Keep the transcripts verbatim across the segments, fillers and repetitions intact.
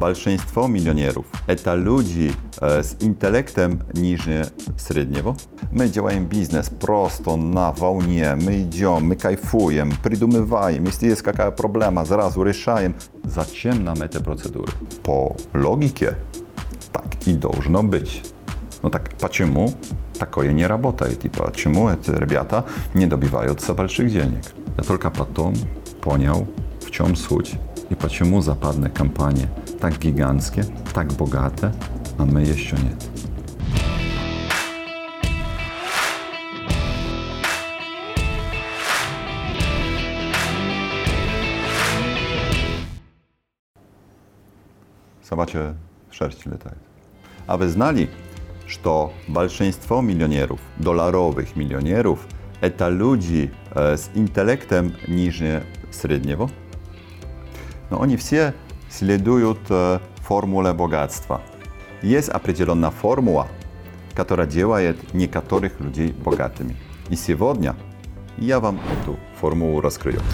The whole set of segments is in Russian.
большинство миллионеров – это люди э, с интеллектом ниже среднего. Мы делаем бизнес просто на волне, мы идем, мы кайфуем, придумываем, если есть какая проблема, сразу решаем. Зачем нам эти процедуры? По логике так и должно быть. Ну так почему такое не работает и почему эти ребята не добиваются больших денег? Я только потом понял, в чем суть и почему западные компании так гигантские, так богатые, а мы еще нет. Собачья шерсть летает. А вы знали, что большинство миллионеров, долларовых миллионеров, это люди э, с интеллектом ниже среднего? Но они все следуют э, формуле богатства. Есть определенная формула, которая делает некоторых людей богатыми. И сегодня я вам эту формулу раскрою.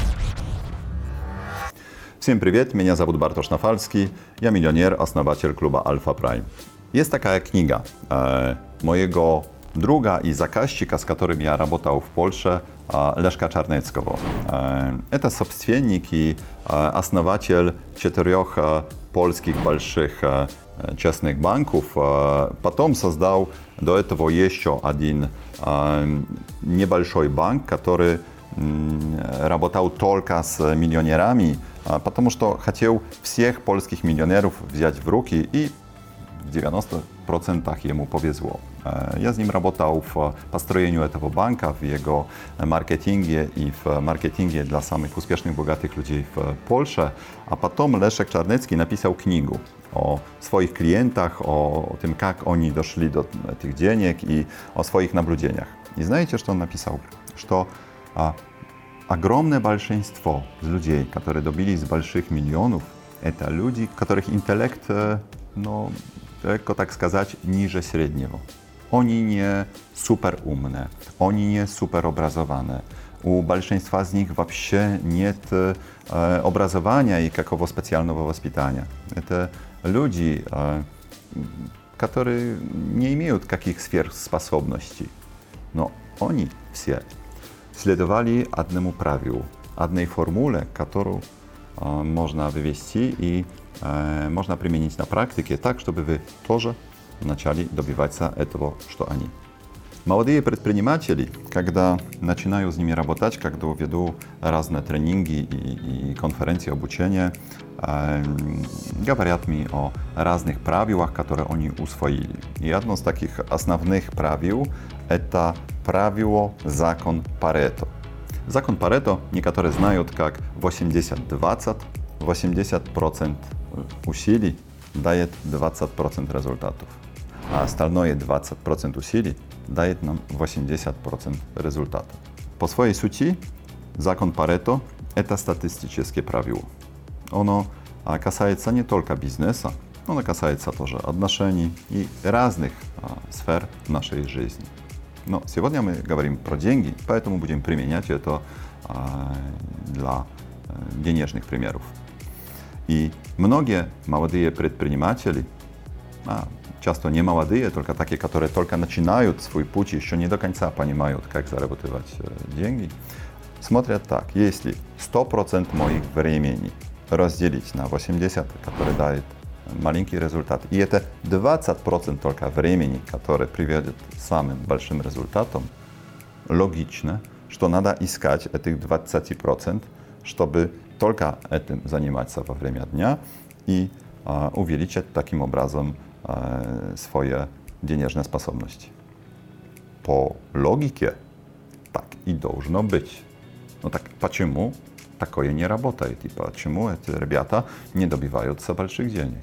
Всем привет, меня зовут Bartosz Nawalski, я миллионер, основатель клуба Alpha Prime. Есть такая книга э, моего друга и заказчика, с которым я работал в Польше, э, Лeszka Czarneckiego. Э, это собственник и э, основатель четырех э, польских больших э, частных банков. Э, потом создал до этого еще один э, небольшой банк, который э, работал только с миллионерами, э, потому что хотел всех польских миллионеров взять в руки, и в девяноста процентах ему повезло. Я с ним работал в построении этого банка, в его маркетинге и в маркетинге для самых успешных, богатых людей в Польше. А потом Leszek Czarnecki написал книгу о своих клиентах, о том, как они дошли до этих денег и о своих наблюдениях. И знаете, что он написал? Что а, огромное большинство людей, которые добились больших миллионов, это люди, которых интеллект, ну, легко так сказать, ниже среднего. Они не супер умные, они не супер образованные. У большинства из них вообще нет э, образования и какого специального воспитания. Это люди, э, которые не имеют каких сверхспособностей. Но они все следовали одному правилу, одной формуле, которую э, можно вывести и э, можно применить на практике так, чтобы вы тоже начали добиваться этого, что они. Молодые предприниматели, когда начинаю с ними работать, когда веду разные тренинги и, и конференции обучения, э, говорят мне о разных правилах, которые они усвоили. И одно из таких основных правил – это правило закон Парето. Закон Парето некоторые знают как восемьдесят двадцать. восемьдесят процентов усилий дает двадцать процентов результатов, а остальное двадцать процентов усилий дает нам восемьдесят процентов результатов. По своей сути, закон Парето – это статистическое правило. Оно касается не только бизнеса, оно касается тоже отношений и разных а, сфер нашей жизни. Но сегодня мы говорим про деньги, поэтому будем применять это а, для а, денежных примеров. И многие молодые предприниматели, а, часто не молодые, только такие, которые только начинают свой путь, еще не до конца понимают, как зарабатывать деньги, смотрят так: если сто процентов моих времени разделить на восемьдесят процентов, который дает маленький результат, и это двадцать процентов только времени, которое приведет к самым большим результатам, логично, что надо искать этих двадцать процентов, чтобы только этим заниматься во время дня и а, увеличить таким образом а, свои денежные способности. По логике так и должно быть. Но так почему такое не работает и почему эти ребята не добиваются больших денег?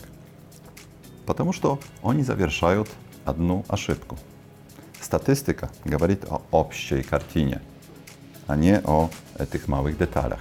Потому что они совершают одну ошибку. Статистика говорит о общей картине, а не о этих малых деталях.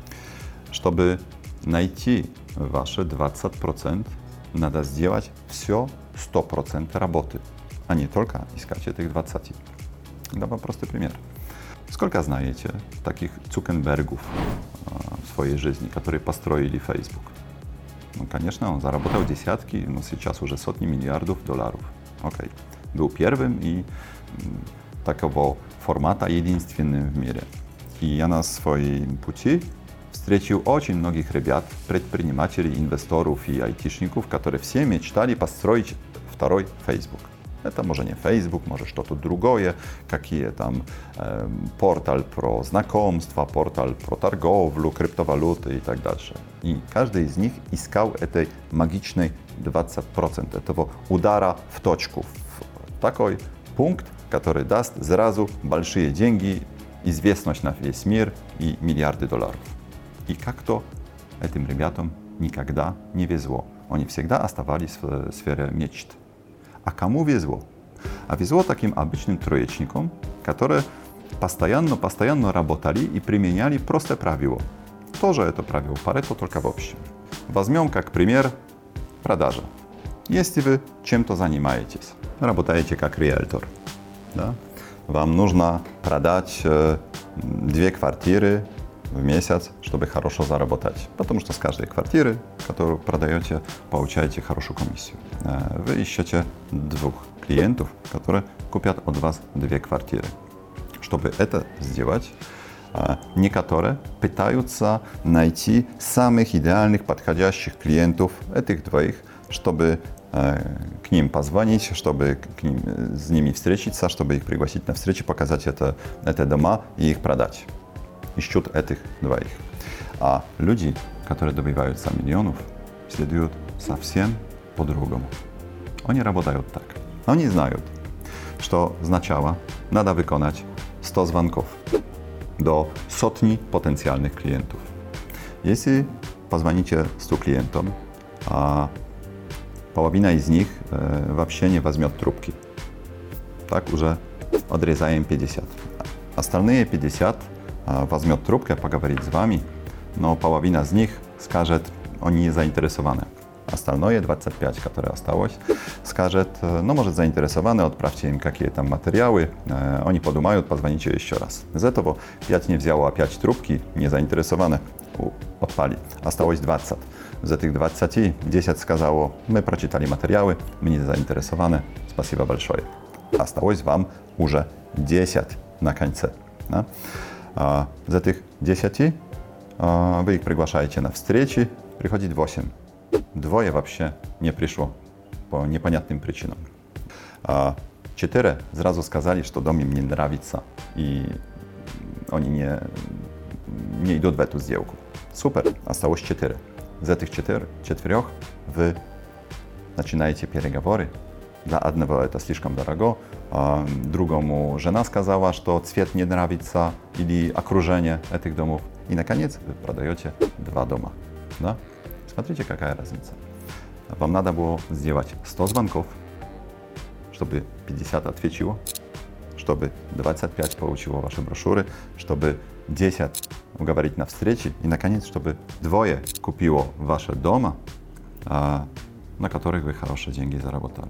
Чтобы найти ваши двадцать процентов, надо сделать все сто процентов работы, а не только искать этих двадцать процентов. Дам простой пример. Сколько знаете таких Цукербергов в своей жизни, которые построили Facebook? Ну, конечно, он заработал десятки, но сейчас уже сотни миллиардов долларов. Окей. Был первым и м, такого формата единственным в мире. И я на своем пути встретил очень многих ребят, предпринимателей, инвесторов и айтишников, которые все мечтали построить второй Facebook. Это может не Facebook, может что-то другое, какие там э, портал про знакомства, портал про торговлю, криптовалюты и так дальше. И каждый из них искал этой магичной двадцать процентов, этого удара в точку, в такой пункт, который даст сразу большие деньги, известность на весь мир и миллиарды долларов. И как-то этим ребятам никогда не везло. Они всегда оставались в сфере мечт. А кому везло? А везло таким обычным троечникам, которые постоянно-постоянно работали и применяли простое правило. Тоже это правило Парето, только в общем. Возьмем как пример продажи. Если вы чем-то занимаетесь, работаете как риэлтор, да? Вам нужно продать э, две квартиры в месяц, чтобы хорошо заработать. Потому что с каждой квартиры, которую продаете, получаете хорошую комиссию. Э, вы ищете двух клиентов, которые купят от вас две квартиры. Чтобы это сделать, э, некоторые пытаются найти самых идеальных, подходящих клиентов, этих двоих, чтобы к ним позвонить, чтобы к ним, с ними встретиться, чтобы их пригласить на встречу, показать это, это дома и их продать. Ищут этих двоих. А люди, которые добиваются миллионов, следуют совсем по-другому. Они работают так. Они знают, что сначала надо выполнять сто звонков до сотни потенциальных клиентов. Если позвоните stu клиентам, а половина из них э, вообще не возьмет трубки. Так уже отрезаем пятьдесят. Остальные пятьдесят э, возьмет трубку, поговорит с вами, но половина из них скажет, они не заинтересованы. Остальное двадцать пять, которое осталось, скажет, э, ну, может, заинтересованы, отправьте им какие-то материалы, э, они подумают, позвоните еще раз. Из этого пять не взяло опять трубки, не заинтересованы, отпали. Осталось двадцать. З этих двадцати десять сказало, мы прочитали материалы, мы не заинтересованы, спасибо большое. Осталось вам уже десять на конце. Да? А, из этих десяти а, вы их приглашаете на встречи, приходит восемь. Двое вообще не пришло по непонятным причинам. А, четыре сразу сказали, что дом им не нравится, и они не, не идут в эту сделку. Супер, осталось четыре. Из этих четырех, четырех вы начинаете переговоры. Для одного это слишком дорого, а другому жена сказала, что цвет не нравится или окружение этих домов. И, наконец, вы продаете два дома. Да? Смотрите, какая разница. Вам надо было сделать сто звонков, чтобы пятьдесят ответило, чтобы двадцать пять получило ваши брошюры, чтобы десять уговорить на встрече и, наконец, чтобы двое купило ваши дома, а, на которых вы хорошие деньги заработали.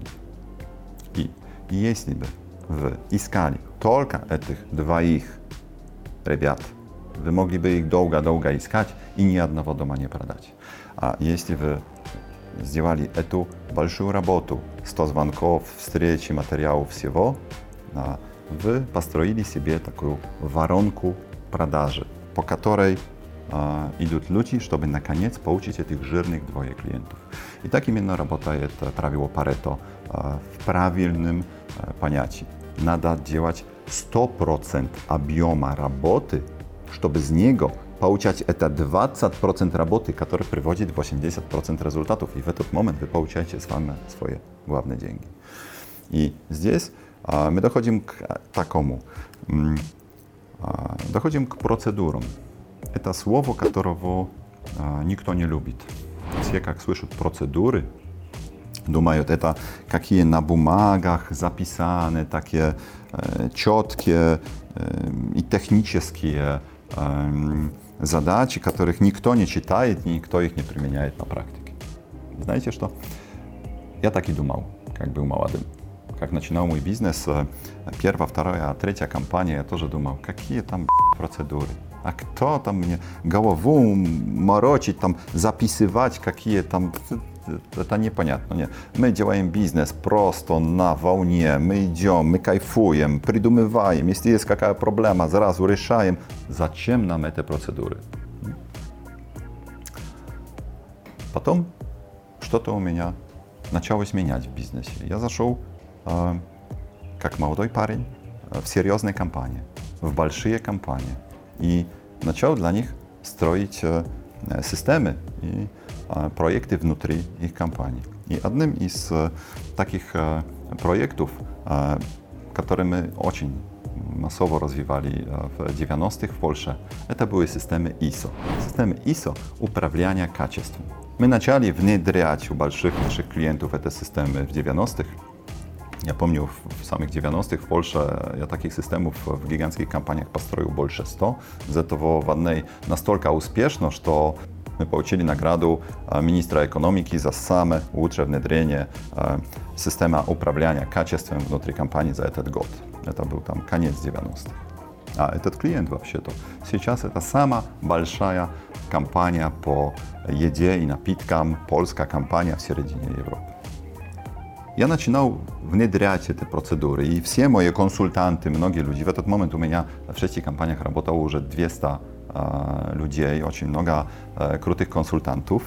И если бы вы искали только этих двоих ребят, вы могли бы их долго-долго искать и ни одного дома не продать. А если вы сделали эту большую работу, сто звонков, встречи, материалов, всего, а, вы построили себе такую воронку продажи, по которой а, идут люди, чтобы наконец получить этих жирных двое клиентов. И так именно работает правило Парето а, в правильном а, понятии. Надо делать сто процентов объема работы, чтобы с него получать это двадцать процентов работы, который приводит восемьдесят процентов результатов. И в этот момент вы получаете с вами свои главные деньги. И здесь а, мы доходим к такому. Доходим к процедурам. Это слово, которого а, никто не любит. Все, как слышат процедуры, думают, это какие на бумагах записаны, такие э, четкие э, и технические э, задачи, которых никто не читает, и никто их не применяет на практике. Знаете что? Я так и думал, как был молодым. Как начинал мой бизнес, первая, вторая, третья компания, я тоже думал, какие там процедуры. А кто там мне голову морочить, там, записывать какие там... Это непонятно. Нет. Мы делаем бизнес просто на волне, мы идем, мы кайфуем, придумываем. Если есть какая проблема, сразу решаем. Зачем нам эти процедуры? Потом что-то у меня началось менять в бизнесе. Я зашел э, как молодой парень в серьезные компании, в большие компании. И начал для них строить э, системы и э, проекты внутри их компаний. И одним из э, таких э, проектов, э, которые мы очень массово развивали э, в девяностых в Польше, это были системы ай эс о. Системы ай эс о управления качеством. Мы начали внедрять у больших наших клиентов эти системы в девяностых. Я помню, в самых девяностых в Польше я таких систем в гигантских компаниях построил больше ста. Из этого в одной настолько успешно, что мы получили награду министра экономики за самое лучшее внедрение системы управления качеством внутри компании за этот год. Это был там конец девяностых. А этот клиент вообще-то сейчас это самая большая компания по еде и напиткам, польская компания в середине Европы. Я начинал внедрять эти процедуры, и все мои консультанты, многие люди, в этот момент у меня в шести компаниях работало уже двести э, людей, очень много э, крутых консультантов.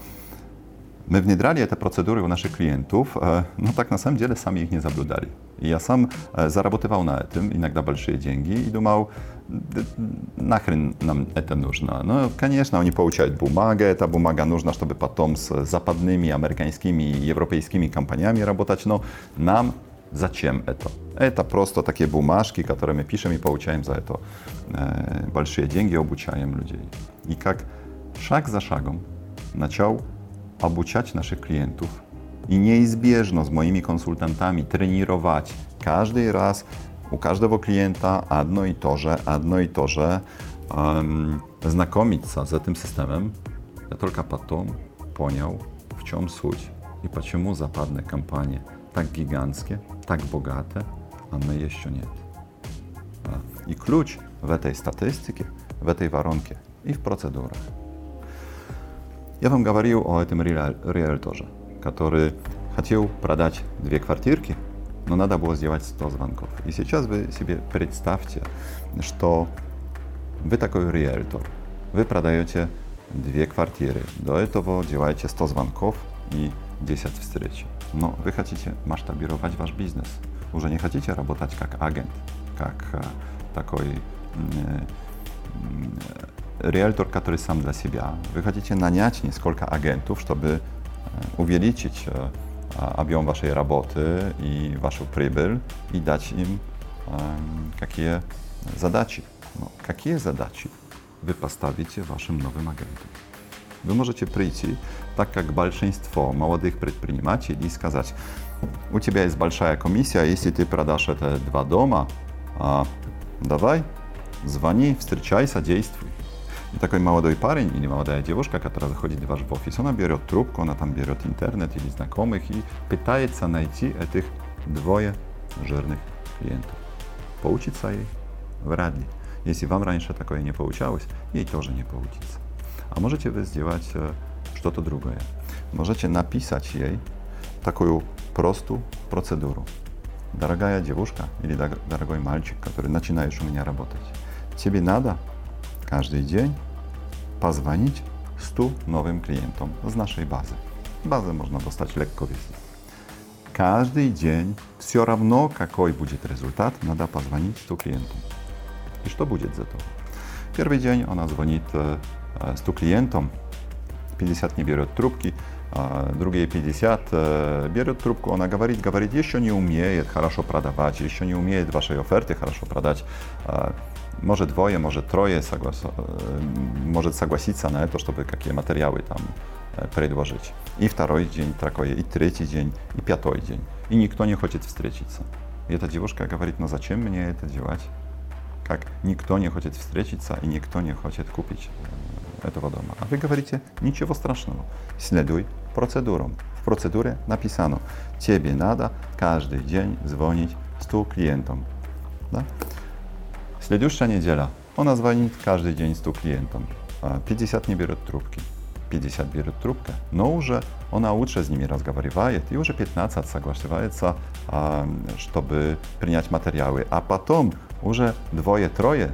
Мы внедряли эти процедуры у наших клиентов, э, но так на самом деле сами их не соблюдали. И я сам э, зарабатывал на этом, иногда большие деньги, и думал, нахрен нам это нужно. Но, конечно, они получают бумагу, эта бумага нужна, чтобы потом с западными, американскими и европейскими компаниями работать, но нам зачем это? Это просто такие бумажки, которые мы пишем и получаем за это э, большие деньги, обучаем людей. И как шаг за шагом начал обучать наших клиентов и неизбежно с моими консультантами тренировать каждый раз у каждого клиента одно и то же, одно и то же, эм, знакомиться с этим системой. Я только потом понял, в чем суть и почему западные компании так гигантские, так богатые, а мы еще нет. И ключ в этой статистике, в этой воронке и в процедурах. Я вам говорил о этом риэлторе, который хотел продать две квартирки, но надо было сделать сто звонков. И сейчас вы себе представьте, что вы такой риэлтор, вы продаете две квартиры, до этого делаете сто звонков и десять встреч. Но вы хотите масштабировать ваш бизнес, уже не хотите работать как агент, как э, такой э, э, риэлтор, который сам для себя. Вы хотите нанять несколько агентов, чтобы э, увеличить э, объем вашей работы и вашу прибыль и дать им э, какие задачи. Но какие задачи вы поставите вашим новым агентам? Вы можете прийти, так как большинство молодых предпринимателей, и сказать, у тебя есть большая комиссия, если ты продашь это два дома, а, давай, звони, встречайся, действуй. И такой молодой парень или молодая девушка, которая заходит в ваш офис, она берет трубку, она там берет интернет или знакомых и пытается найти этих двое жирных клиентов. Получится ей? Вряд ли. Если вам раньше такое не получалось, ей тоже не получится. А можете вы сделать э, что-то другое. Можете написать ей такую простую процедуру. Дорогая девушка или дорогой мальчик, который начинаешь у меня работать, тебе надо каждый день позвонить stu новым клиентам с нашей базы. Базу можно достать легко везде. Каждый день, все равно какой будет результат, надо позвонить stu клиентам. И что будет за то? Первый день она звонит э, stu клиентам, пятьдесят не берет трубки, а другие пятьдесят э, берет трубку, она говорит, говорит, еще не умеет хорошо продавать, еще не умеет вашей оферты хорошо продать. Э, может двое, может трое соглас... э, может согласиться на это, чтобы какие материалы там э, предложить. И второй день такой, и третий день, и пятый день. И никто не хочет встретиться. И эта девушка говорит, ну зачем мне это делать? Как никто не хочет встретиться и никто не хочет купить э, этого дома. А вы говорите, ничего страшного, следуй процедурам. В процедуре написано, тебе надо каждый день звонить stu клиентам. Да? Следующая неделя Она звонит каждый день stu клиентам. пятьдесят не берет трубки. пятьдесят берет трубку, но уже она лучше с ними разговаривает и уже пятнадцать соглашается, чтобы принять материалы. А потом уже двое-трое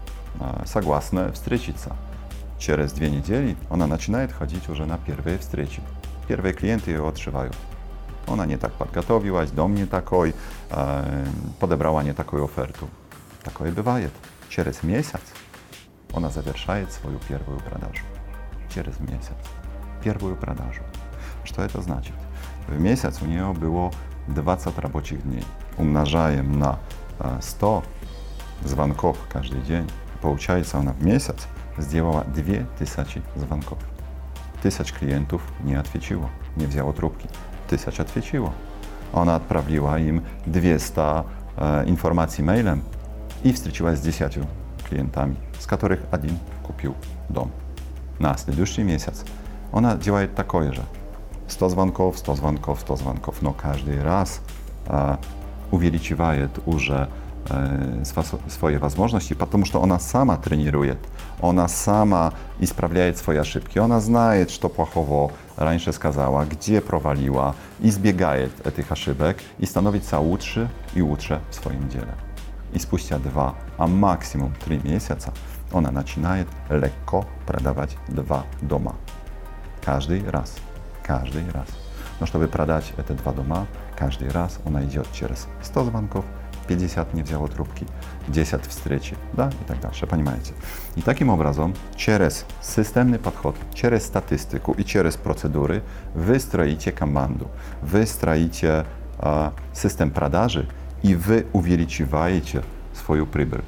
согласны встретиться. Через две недели она начинает ходить уже на первые встречи. Первые клиенты ее отшивают. Она не так подготовилась, дом не такой, подобрала не такую оферту. Такое бывает. Через месяц она завершает свою первую продажу. Через месяц. Первую продажу. Что это значит? В месяц у нее было двадцать рабочих дней. Умножаем на сто звонков каждый день. Получается, она в месяц сделала две тысячи звонков. Тысяч клиентов не отвечало, не взяло трубки. Тысяч отвечало. Она отправила им двести э, информаций мейлем и встречалась с десятью клиентами, с которых один купил дом. На следующий месяц она делает такое же. сто звонков, сто звонков, сто звонков, но каждый раз э, увеличивает уже э, свои возможности, потому что она сама тренирует, она сама исправляет свои ошибки, она знает, что плохого раньше сказала, где провалила, избегает этих ошибок и становится лучше и лучше в своем деле. И спустя два, а максимум три месяца она начинает легко продавать два дома. Каждый раз. Каждый раз. Но чтобы продать эти два дома, каждый раз она идет через сто звонков, пятьдесят не взяла трубки, десять встреч, да, и так дальше, понимаете. И таким образом, через системный подход, через статистику и через процедуры вы строите команду, вы строите э, систем продажи, и вы увеличиваете свою прибыль.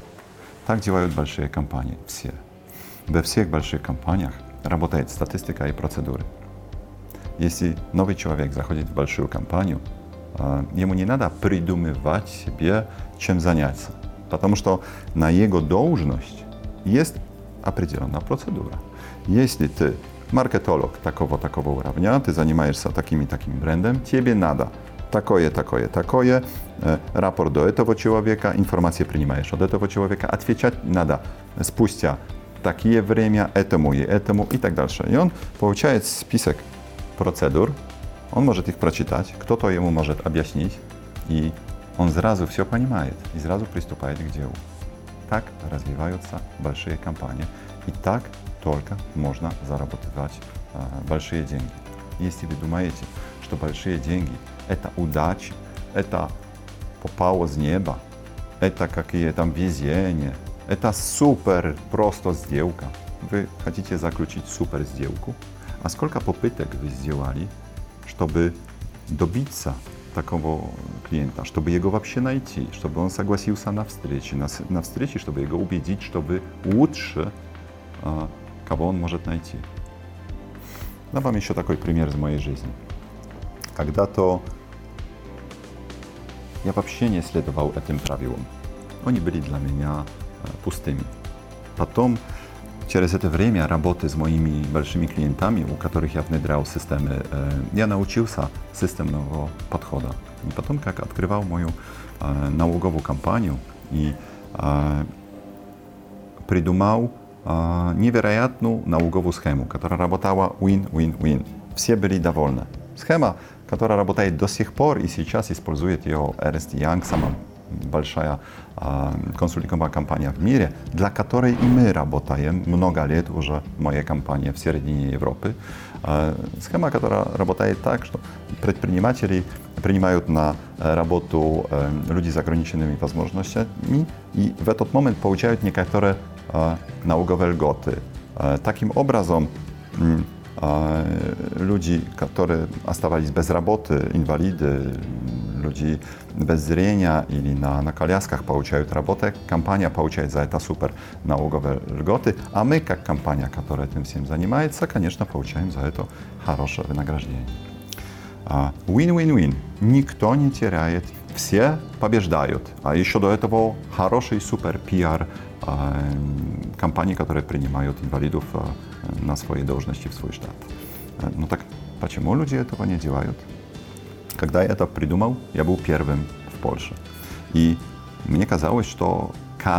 Так делают большие компании, все. Во всех больших компаниях работает статистика и процедуры. Если новый человек заходит в большую компанию, ему не надо придумывать себе, чем заняться, потому что на его должность есть определенная процедура. Если ты маркетолог такого-такого уровня, ты занимаешься таким-таким брендом, тебе надо такое, такое, такое, э, рапорт до этого человека, информацию принимаешь от этого человека, отвечать надо спустя такие время этому и этому и так дальше. И он получает список процедур, он может их прочитать, кто-то ему может объяснить, и он сразу все понимает и сразу приступает к делу. Так развиваются большие компании, и так только можно зарабатывать э, большие деньги. Если вы думаете, что большие деньги – это удача, это попало с неба, это какие-то везения, это супер просто сделка. Вы хотите заключить супер сделку, а сколько попыток вы сделали, чтобы добиться такого клиента, чтобы его вообще найти, чтобы он согласился на встрече, на, на встрече, чтобы его убедить, чтобы лучше, э, кого он может найти. Дам вам еще такой пример из моей жизни. Когда-то я вообще не следовал этим правилам. Они были для меня э, пустыми. Потом, через это время работы с моими большими клиентами, у которых я внедрял системы, э, я научился системного подхода. И потом, как открывал мою э, налоговую компанию и э, придумал э, невероятную налоговую схему, которая работала win-win-win. Все были довольны. Схема, которая работает до сих пор и сейчас использует ее Ernst энд Young, самая большая э, консалтинговая компания в мире, для которой и мы работаем много лет уже, моя компания в середине Европы. Э, схема, которая работает так, что предприниматели принимают на работу э, людей с ограниченными возможностями и в этот момент получают некоторые э, налоговые льготы. Э, таким образом, э, люди, которые оставались без работы, инвалиды, люди без зрения или на, на колясках получают работу, компания получает за это супер налоговые льготы, а мы, как компания, которая этим всем занимается, конечно, получаем за это хорошее вознаграждение. Win-win-win. Никто не теряет, все побеждают. А еще до этого хороший супер пиар компаний, которые принимают инвалидов на свои должности в свой штат. Ну так почему люди этого не делают? Когда я это придумал, я был первым в Польше. И мне казалось, что каждый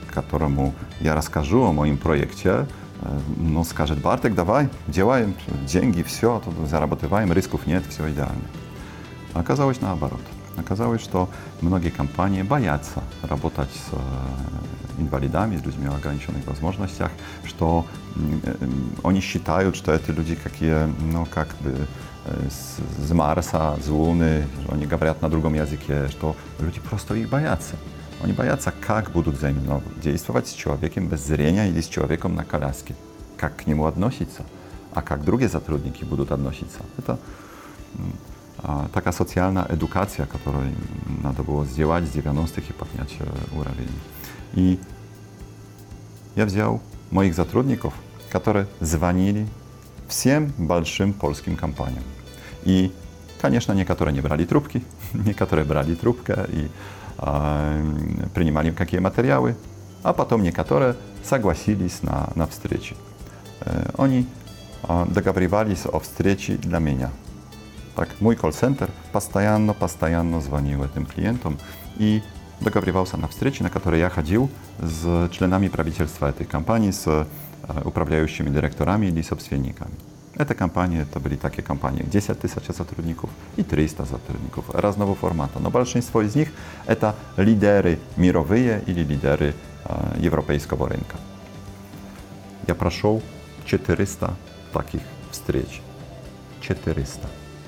которому я расскажу о моем проекте, ну, скажет: Bartek, давай, делаем, деньги, все, тут зарабатываем, рисков нет, все идеально. Оказалось наоборот. Оказалось, что многие компании боятся работать с инвалидами, с людьми в ограниченных возможностях, что они считают, что это люди какие, ну, как бы с, с Марса, с Луны, они говорят на другом языке, что люди просто их боятся. Они боятся, как будут взаимодействовать с человеком без зрения или с человеком на коляске, как к нему относиться, а как другие сотрудники будут относиться. Это а, такая социальная эдукация, которую надо было сделать с девяностых и поднять уровень. И я взял моих сотрудников, которые звонили всем большим польским компаниям. И, конечно, некоторые не брали трубки, некоторые брали трубку и э, принимали какие материалы, а потом некоторые согласились на, на встречи. Э, они э, договаривались о встрече для меня. Так, мой колл-центр постоянно, постоянно звонил этим клиентам и договаривался на встречи, на которые я ходил с членами правительства этой компании, с управляющими директорами или собственниками. Эта компания, это были такие компании, десять тысяч сотрудников и триста сотрудников разного формата. Но большинство из них это лидеры мировые или лидеры э, европейского рынка. Я прошел четыреста таких встреч. четыреста.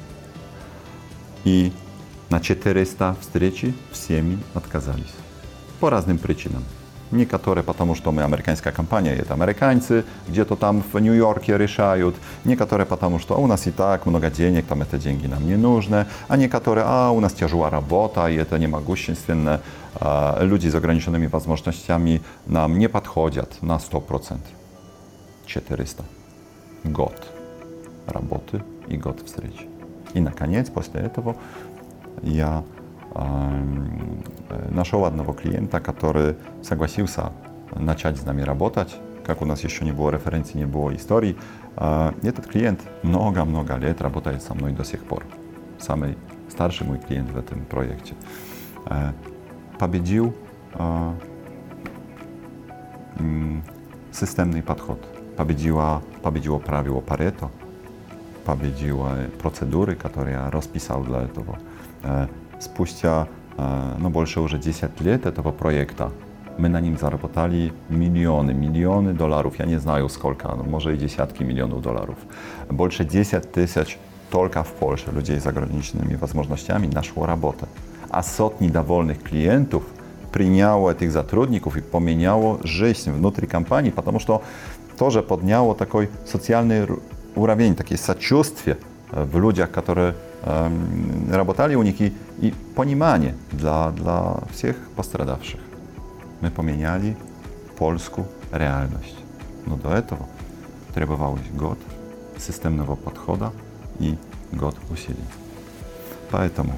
И на четыреста встреч всеми отказались. По разным причинам. Некоторые потому, что мы американская компания, это американцы, где-то там в Нью-Йорке решают. Некоторые потому, что у нас и так много денег, там это деньги нам не нужны. А некоторые, а у нас тяжелая работа, и это не могущественно. А, люди с ограниченными возможностями нам не подходят на сто процентов. четыреста. Год работы и год встреч. И, наконец, после этого я нашел одного клиента, который согласился начать с нами работать. Как у нас еще не было референций, не было историй. Этот клиент много-много лет работает со мной до сих пор. Самый старший мой клиент в этом проекте. Победил системный подход. Победила, победило правило Парето. Победила процедуры, которые я расписал для этого. Спустя ну, больше уже десять лет этого проекта мы на ним заработали миллионы, миллионы долларов. Я не знаю сколько, но может и десятки миллионов долларов. Больше десять тысяч только в Польше людей с ограниченными возможностями нашло работу. А сотни довольных клиентов приняло этих сотрудников и поменяло жизнь внутри компании, потому что тоже подняло такой социальный уровень, такие сочувствия в людях, которые э, работали у них, и, и понимание для, для всех пострадавших. Мы поменяли польскую реальность. Но до этого требовалось год системного подхода и год усилий. Поэтому,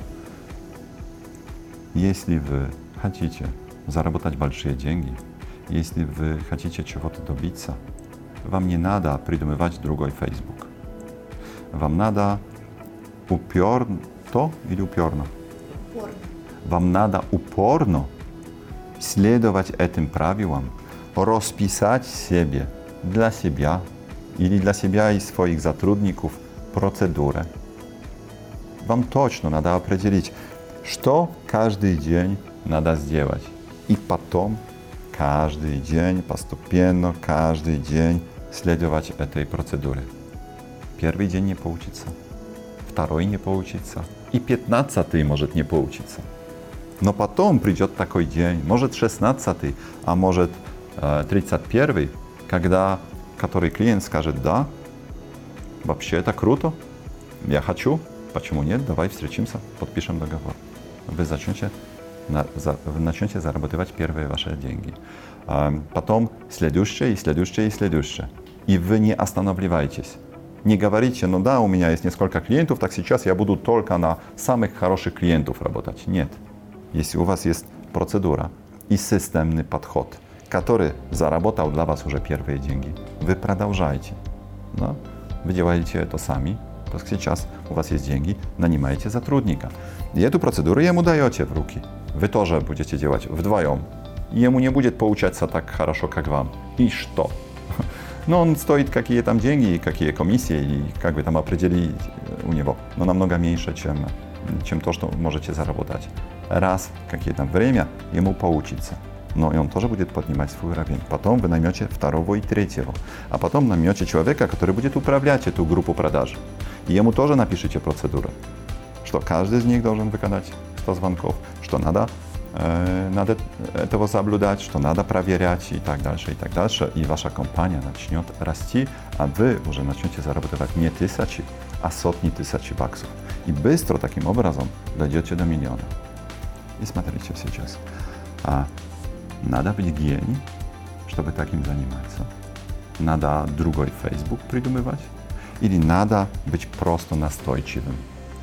если вы хотите заработать большие деньги, если вы хотите чего-то добиться, вам не надо придумывать другой Facebook. Вам надо упорно или упорно? Упорно. Вам надо упорно следовать этим правилам, расписать себе для себя или для себя и своих сотрудников процедуры. Вам точно надо определить, что каждый день надо сделать. И потом каждый день, постепенно, каждый день следовать этой процедуре. Первый день не получится, второй не получится, и пятнадцатый может не получиться. Но потом придет такой день, может шестнадцатый, а может тридцать первый, когда который клиент скажет: да, вообще это круто, я хочу, почему нет, давай встретимся, подпишем договор. Вы начнете, вы начнете зарабатывать первые ваши деньги. Потом следующее и следующее и следующее. И вы не останавливаетесь. Не говорите: ну да, у меня есть несколько клиентов, так сейчас я буду только на самых хороших клиентов работать. Нет. Если у вас есть процедура и системный подход, который заработал для вас уже первые деньги, вы продолжаете. Да? Вы делаете это сами, так сейчас у вас есть деньги, нанимаете сотрудника. И эту процедуру ему даете в руки. Вы тоже будете делать вдвоем. и ему не будет получаться так хорошо, как вам. И что? Но он стоит какие там деньги, какие комиссии, и как вы там определить у него, но намного меньше, чем, чем то, что можете заработать. Раз в какое-то время ему получится, но и он тоже будет поднимать свой уровень. Потом вы наймете второго и третьего, а потом наймете человека, который будет управлять эту группу продаж. И ему тоже напишите процедуру, что каждый из них должен выполнять сто звонков, что надо надо этого соблюдать, что надо проверять и так дальше, и так дальше. И ваша компания начнет расти, а вы уже начнете зарабатывать не тысячи, а сотни тысяч баксов. И быстро таким образом дойдете до миллиона. И смотрите сейчас. А надо быть гений, чтобы таким заниматься. Надо другой Facebook придумывать. Или надо быть просто настойчивым.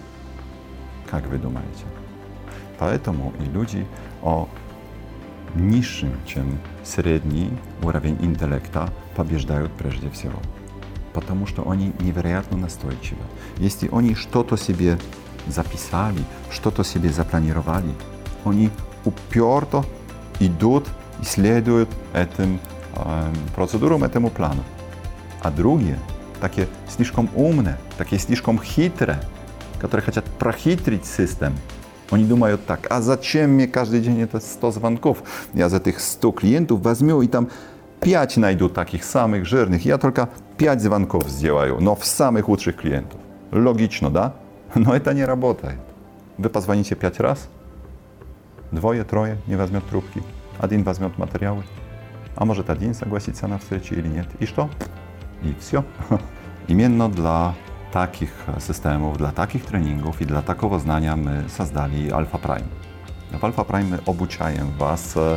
Как вы думаете? Поэтому и люди о niższym, чем средний уровень интеллекта побеждают прежде всего. Потому что они невероятно настойчивы. Если они что-то себе записали, что-то себе запланировали, они уперто идут и следуют этим э, процедурам, этому плану. А другие, такие слишком умные, такие слишком хитрые, которые хотят прохитрить систему, они думают так, а зачем мне каждый день это сто звонков? Я за этих сто клиентов возьму и там пять найду таких самых жирных. Я только пять звонков сделаю, но в самых лучших клиентов. Логично, да? Но это не работает. Вы позвоните пять раз, двое, трое не возьмет трубки, один возьмет материалы, а может один согласится на встречу или нет. И что? И все. Именно для takich systemów, dla takich treningów i dla takiego znania my создали Alpha Prime. W Alpha Prime my obuczajem Was, e,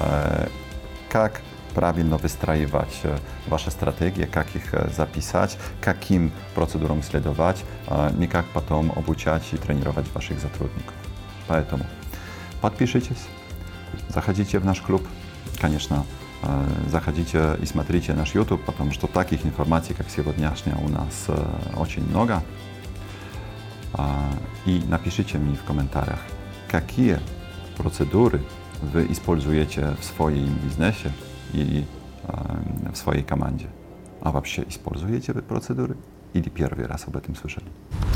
jak prawidłowo wysтраивать Wasze strategie, jak ich zapisać, jakim procedurom следовать, e, nie jak potem obuczać i trenować Waszych zatrudników. Поэтому подпишитесь, заходите в наш клуб, конечно, заходите и смотрите наш YouTube, потому что таких информаций, как сегодняшняя, у нас очень много. И напишите мне в комментариях, какие процедуры вы используете в своем бизнесе и в своей команде. А вообще используете вы процедуры или первый раз об этом слышали?